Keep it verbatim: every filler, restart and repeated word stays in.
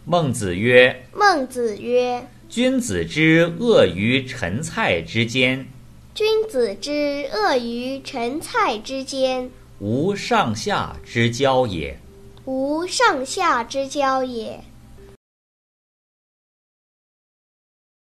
孟子曰： 孟子曰： 君子之恶于陈蔡之间， 君子之恶于陈蔡之间， 无上下之交也。 无上下之交也。